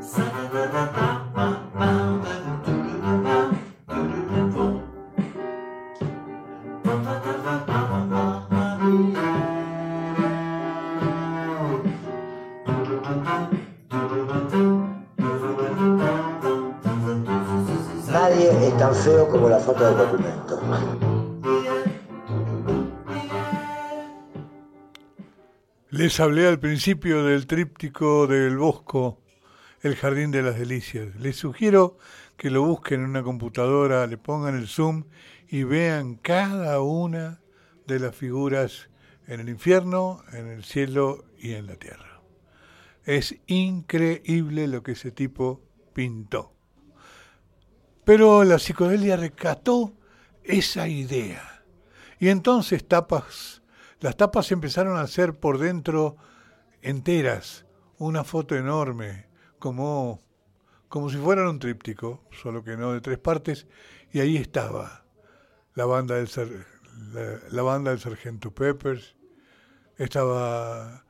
Nadie es tan feo como la foto del documento. Les hablé al principio del tríptico del Bosco, El Jardín de las Delicias. Les sugiero que lo busquen en una computadora, le pongan el zoom y vean cada una de las figuras en el infierno, en el cielo y en la tierra. Es increíble lo que ese tipo pintó. Pero la psicodelia rescató esa idea. Y entonces las tapas empezaron a ser por dentro enteras, una foto enorme, como si fueran un tríptico, solo que no de 3 partes, y ahí estaba la banda del Sargento Peppers, estaba,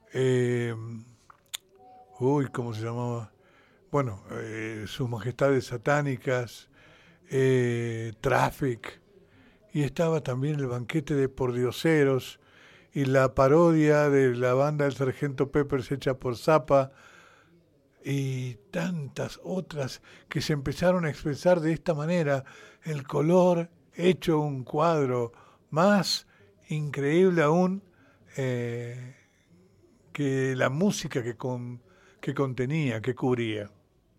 ¿cómo se llamaba? Bueno, Sus Majestades Satánicas, Traffic, y estaba también el banquete de Pordioseros y la parodia de la banda del Sargento Peppers hecha por Zappa y tantas otras que se empezaron a expresar de esta manera, el color hecho un cuadro más increíble aún que la música que contenía, que cubría.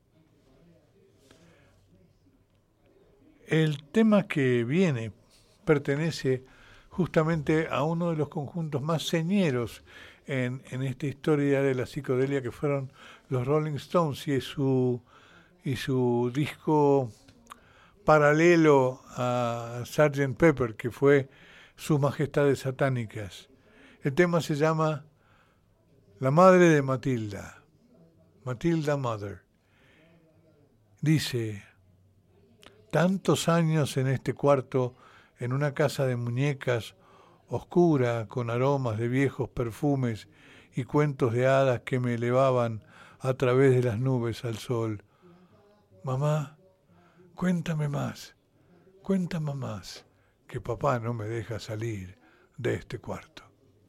El tema que viene pertenece justamente a uno de los conjuntos más señeros en esta historia de la psicodelia, que fueron los Rolling Stones y su disco paralelo a Sgt. Pepper, que fue Sus Majestades Satánicas. El tema se llama La Madre de Matilda, Matilda Mother. Dice: tantos años en este cuarto, en una casa de muñecas, oscura, con aromas de viejos perfumes y cuentos de hadas que me elevaban a través de las nubes al sol. Mamá, cuéntame más, que papá no me deja salir de este cuarto.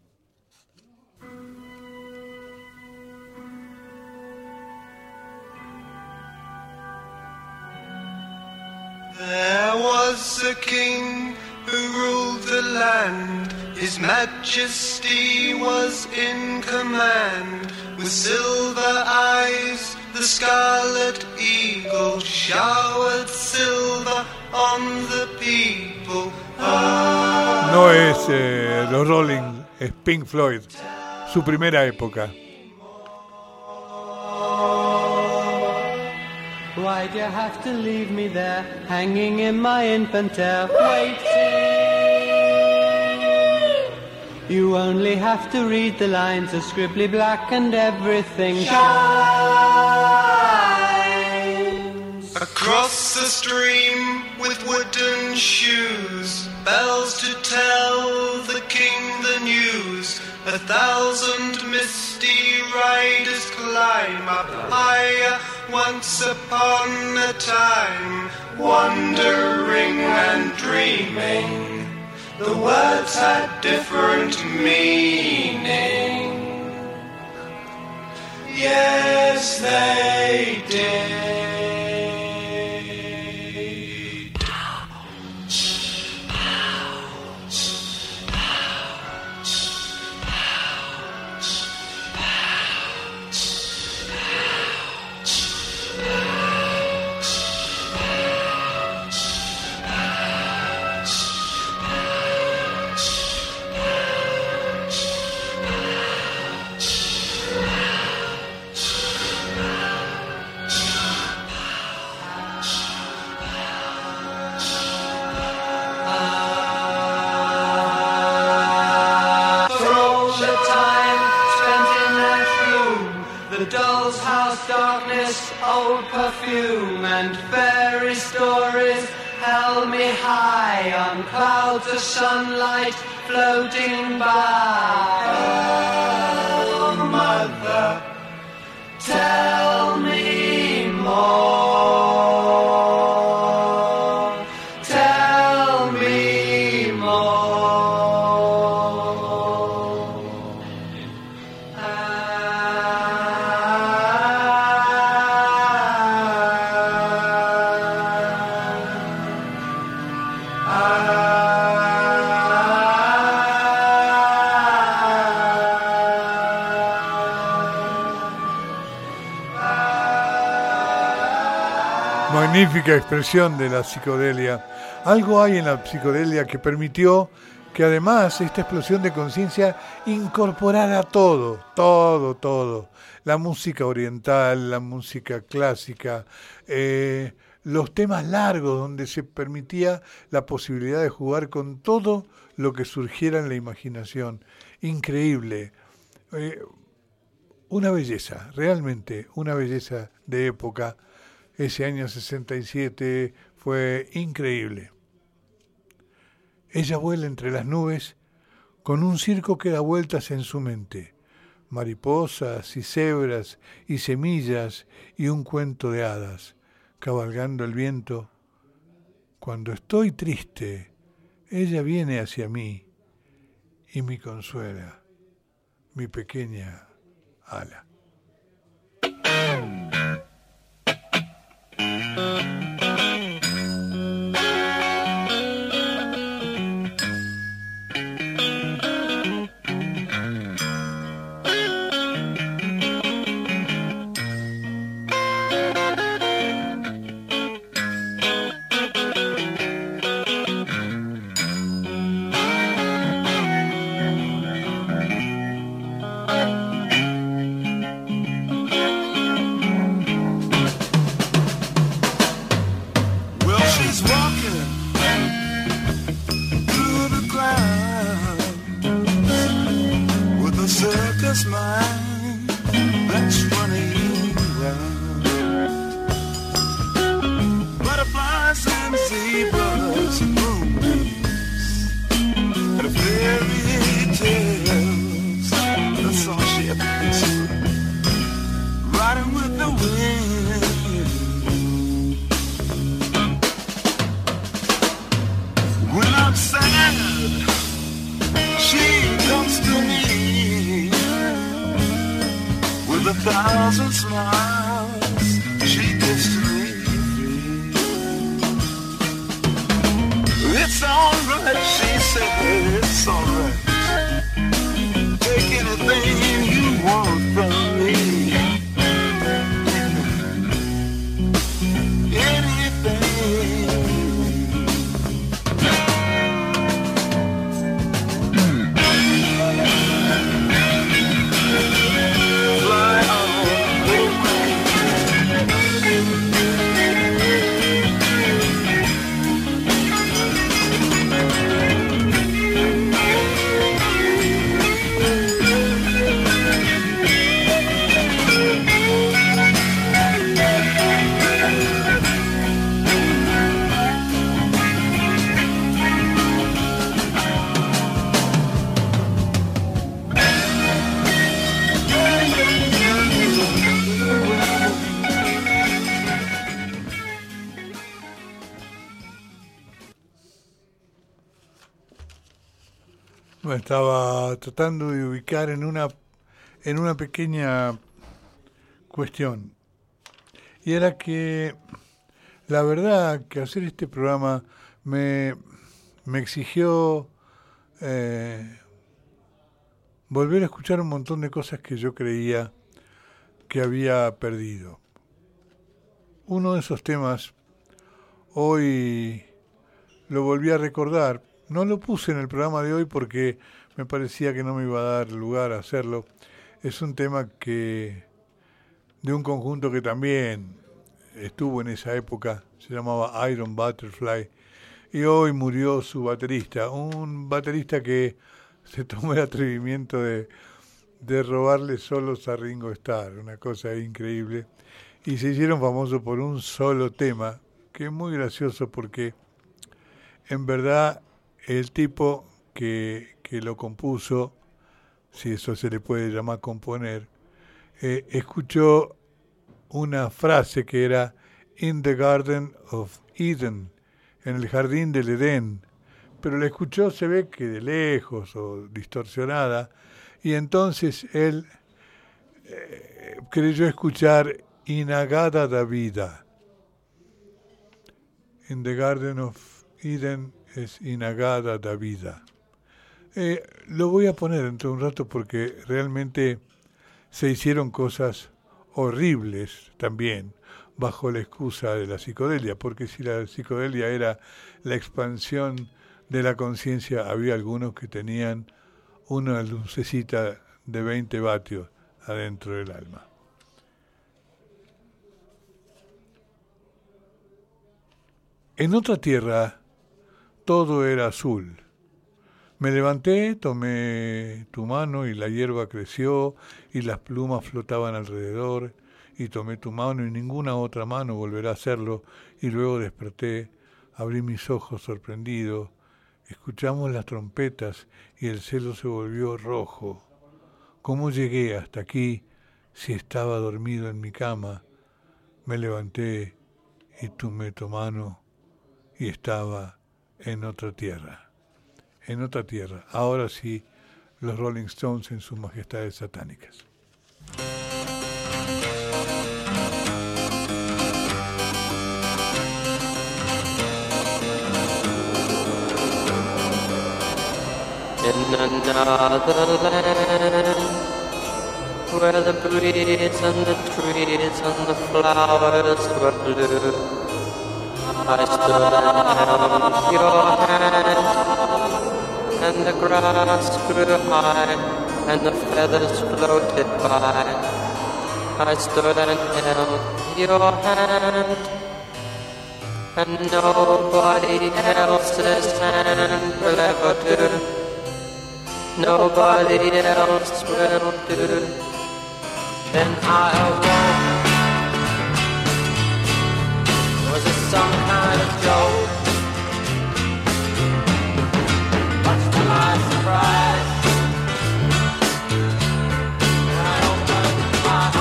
There was a king who ruled the land. His majesty was in command. With silver eyes, the scarlet eagle showered silver on the people. No es los Rolling, es Pink Floyd, su primera época. Why'd you have to leave me there, hanging in my infant-air, waiting? You only have to read the lines, are scribbly black and everything shines. Across the stream with wooden shoes, bells to tell the king the news. 1,000 misty riders climb up higher. Once upon a time, wandering and dreaming, the words had different meaning. Yes, they did. Old perfume and fairy stories held me high on clouds of sunlight floating by. Oh, mother, tell me Magnífica expresión de la psicodelia. Algo hay en la psicodelia que permitió que además esta explosión de conciencia incorporara todo. La música oriental, la música clásica, los temas largos donde se permitía la posibilidad de jugar con todo lo que surgiera en la imaginación. Increíble. Una belleza, realmente una belleza de época. Ese año 67 fue increíble. Ella vuela entre las nubes con un circo que da vueltas en su mente. Mariposas y cebras y semillas y un cuento de hadas, cabalgando el viento. Cuando estoy triste, ella viene hacia mí y me consuela, mi pequeña ala. Estaba tratando de ubicar en una pequeña cuestión. Y era que la verdad que hacer este programa me exigió volver a escuchar un montón de cosas que yo creía que había perdido. Uno de esos temas hoy lo volví a recordar. No lo puse en el programa de hoy porque me parecía que no me iba a dar lugar a hacerlo. Es un tema de un conjunto que también estuvo en esa época, se llamaba Iron Butterfly, y hoy murió su baterista, un baterista que se tomó el atrevimiento de robarle solos a Ringo Starr, una cosa increíble, y se hicieron famosos por un solo tema, que es muy gracioso porque en verdad el tipo que lo compuso, si eso se le puede llamar componer, escuchó una frase que era "In the Garden of Eden", en el jardín del Edén, pero la escuchó, se ve que de lejos o distorsionada, y entonces él creyó escuchar "Inagada da vida". In the Garden of Eden es "Inagada da vida". Lo voy a poner dentro de un rato porque realmente se hicieron cosas horribles también, bajo la excusa de la psicodelia, porque si la psicodelia era la expansión de la conciencia, había algunos que tenían una lucecita de 20 vatios adentro del alma. En otra tierra todo era azul. Me levanté, tomé tu mano y la hierba creció y las plumas flotaban alrededor, y tomé tu mano y ninguna otra mano volverá a hacerlo, y luego desperté, abrí mis ojos sorprendido, escuchamos las trompetas y el cielo se volvió rojo. ¿Cómo llegué hasta aquí si estaba dormido en mi cama? Me levanté y tomé tu mano y estaba en otra tierra. En otra tierra. Ahora sí, los Rolling Stones en sus majestades satánicas. In another land, where the breeze and the trees and the flowers were blue, I stood and held your hand, and the grass grew high, and the feathers floated by. I stood and held your hand, and nobody else's hand will ever do. Nobody else will do. Then I awoke. Was it some kind of joke? Much to my surprise, when I opened my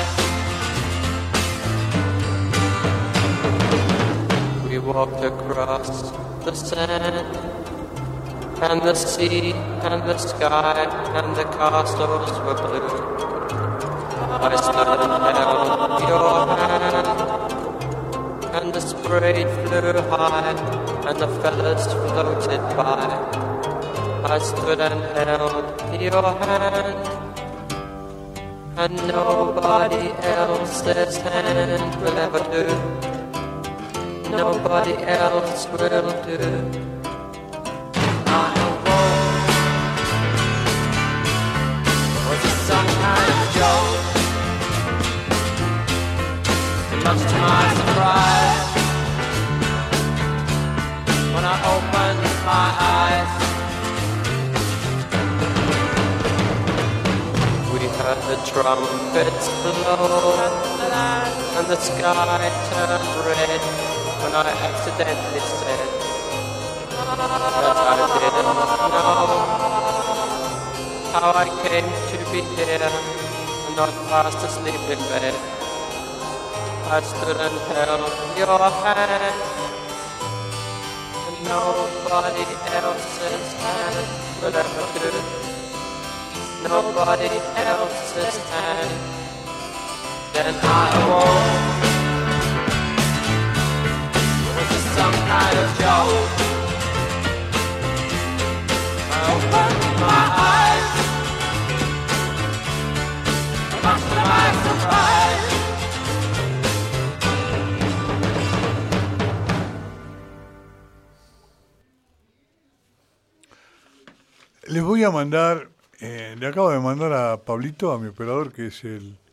eyes, we walked across the sand, and the sea, and the sky, and the castles were blue. I stood and held your hand, and the spray flew high, and the feathers floated by. I stood and held your hand, and nobody else's hand will ever do. Nobody else will do. Some kind of joke. Much to my surprise, when I opened my eyes, we heard the trumpets blow, and the sky turned red, when I accidentally said that I didn't know how I came to be here and not fast asleep in bed. I stood and held your hand, and nobody else's hand will ever do. Nobody else's hand. Then I awoke. Was it some kind of joke? I opened my eyes, much to my surprise. Les voy a mandar, le acabo de mandar a Pablito, a mi operador, que es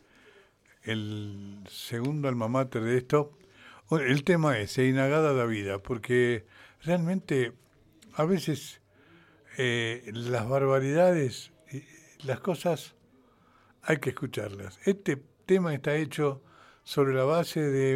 el segundo alma mater de esto. El tema es Inagada da Vida, porque realmente a veces las barbaridades, las cosas, hay que escucharlas. Este tema está hecho sobre la base de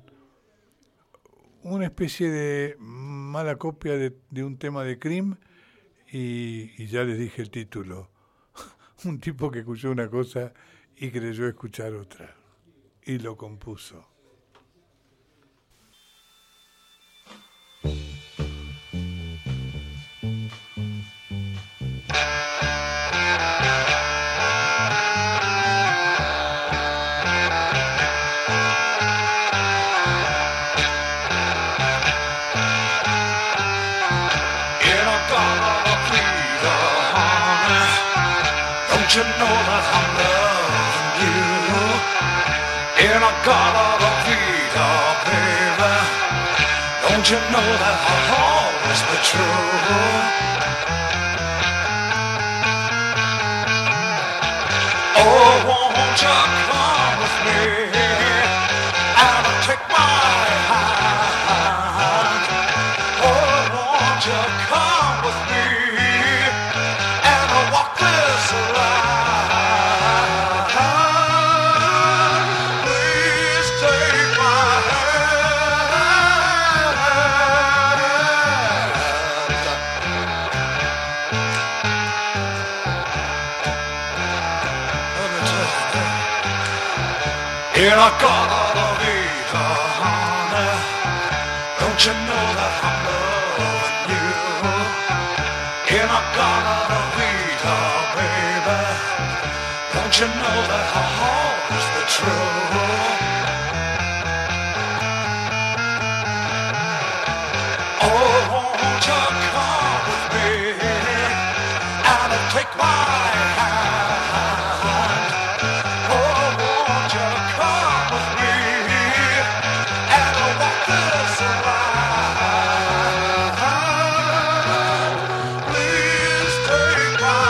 una especie de mala copia de un tema de Cream, y ya les dije el título. Un tipo que escuchó una cosa y creyó escuchar otra, y lo compuso. Don't you know that I'm loving you? In a God of a fever. Don't you know that I'll always be true? Oh, won't you come with me and take my hand? Oh, won't you come with me and walk this line? Please take my hand. In a Garden of Eden, honey, don't you know that I'm loving you? In a Garden of Eden, baby, don't you know that I'll always be true? Oh, won't you come with me and take my hand? Oh, won't you come with me and walk this line? Please take my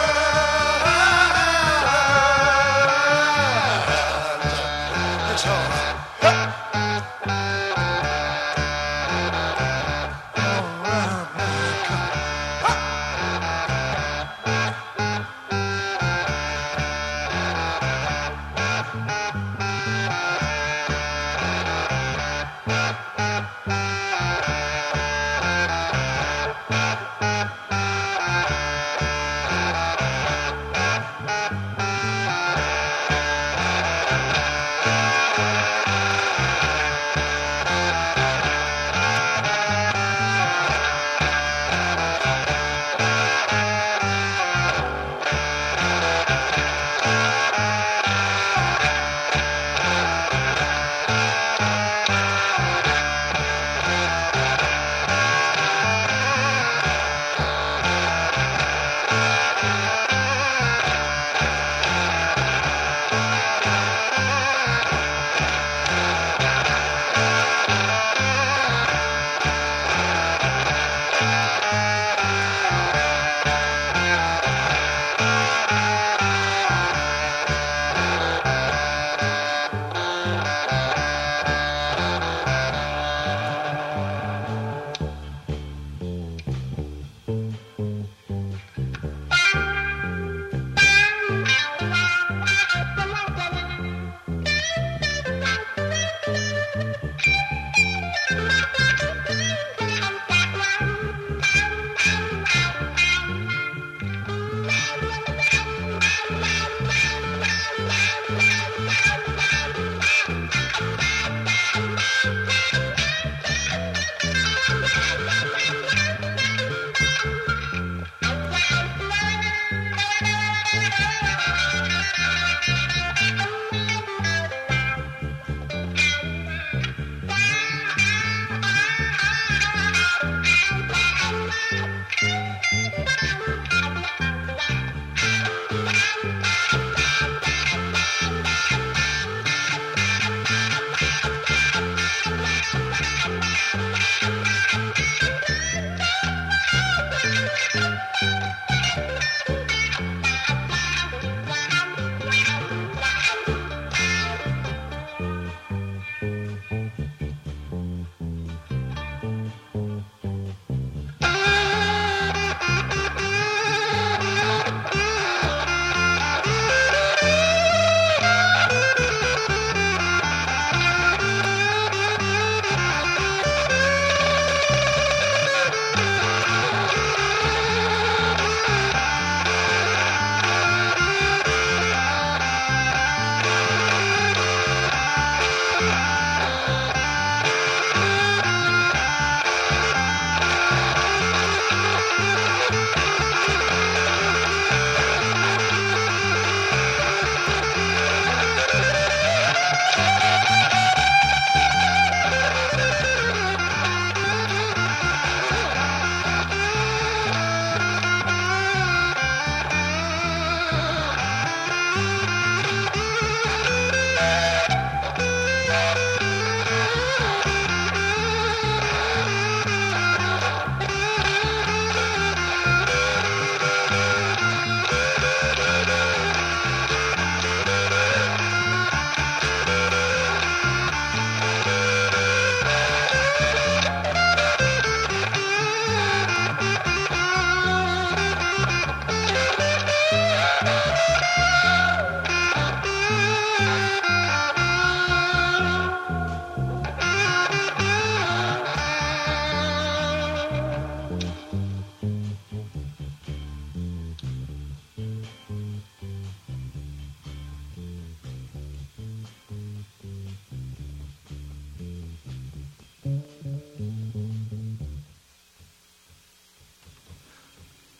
hand. It's all right.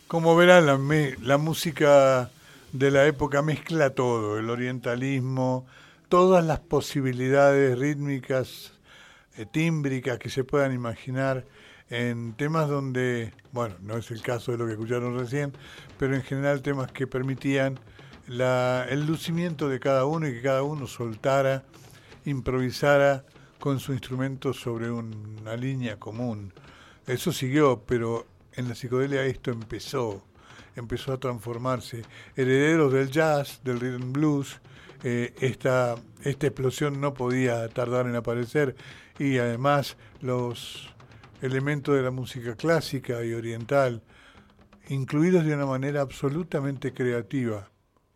Como verán, la música de la época mezcla todo, el orientalismo, todas las posibilidades rítmicas, tímbricas que se puedan imaginar en temas donde, bueno, no es el caso de lo que escucharon recién, pero en general temas que permitían el lucimiento de cada uno y que cada uno soltara, improvisara con su instrumento sobre una línea común. Eso siguió, pero en la psicodelia esto empezó a transformarse. Herederos del jazz, del rhythm and blues, esta explosión no podía tardar en aparecer, y además los elementos de la música clásica y oriental, incluidos de una manera absolutamente creativa.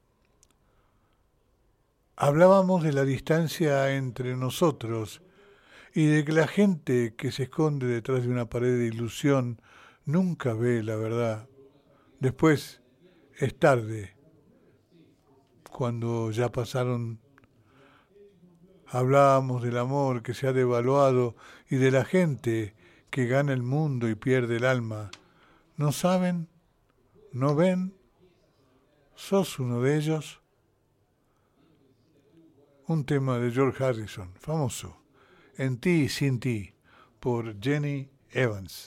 Hablábamos de la distancia entre nosotros y de que la gente que se esconde detrás de una pared de ilusión nunca ve la verdad. Después es tarde, cuando ya pasaron. Hablábamos del amor que se ha devaluado y de la gente que gana el mundo y pierde el alma. ¿No saben? ¿No ven? ¿Sos uno de ellos? Un tema de George Harrison, famoso, En ti y sin ti, por Jenny Evans.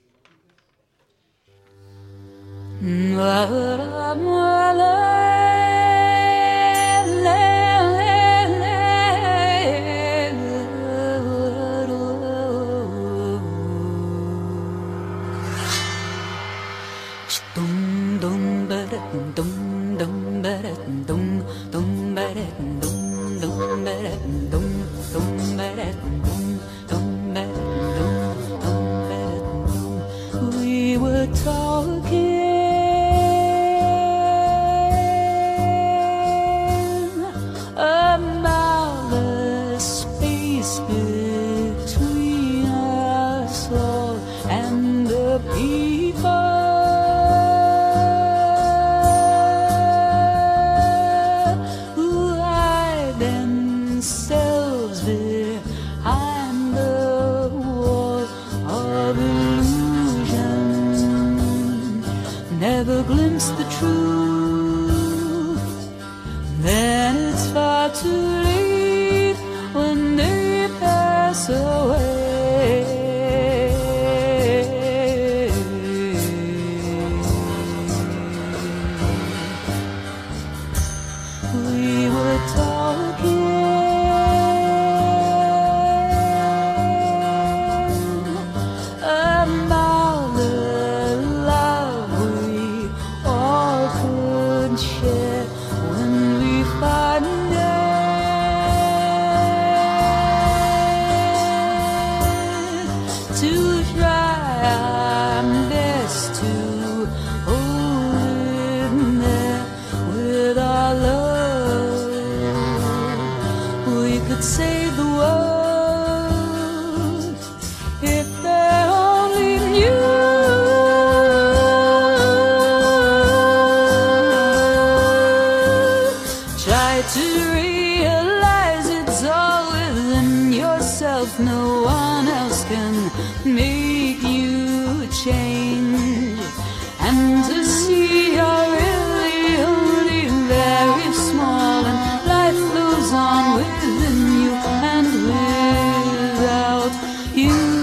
We were talking about the space between us all and the people who hide themselves behind the wall of illusion, never glimpse the truth. Then it's far too late when they pass away. We were talking about the love we all could share when we find it, to try our best to hold it there with our love. We could save the world if they only knew. Try to realize it's all within yourself. No one else can make you change. And to see you're really only very small, and life goes on within you and without you.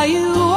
Are you